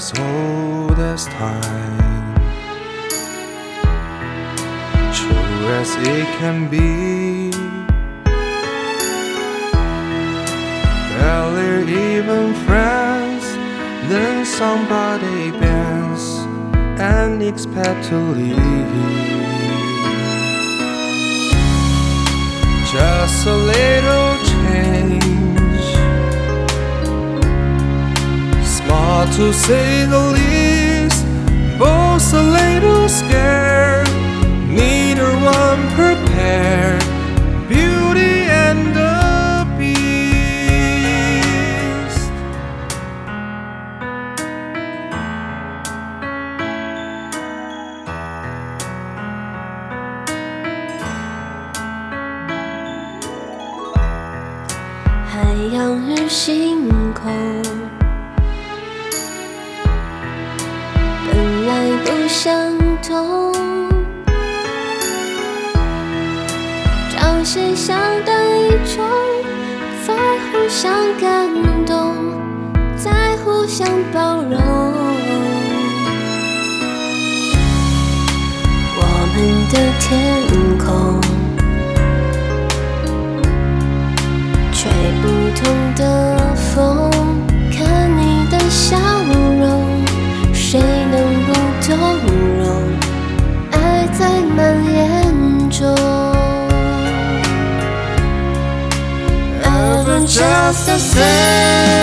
as old as time, true as it can be. Barely even friends, then somebody bends and expect to leave. Just a little change, small to say the least, both a little scared, neither one prepared, Beauty and the Beast. 海洋与星空本来不相同，朝夕相对中，在互相感动，在互相包容。我们的天空吹不同的风，看你的笑容，谁能不动容？爱在蔓延中。Ever just the same.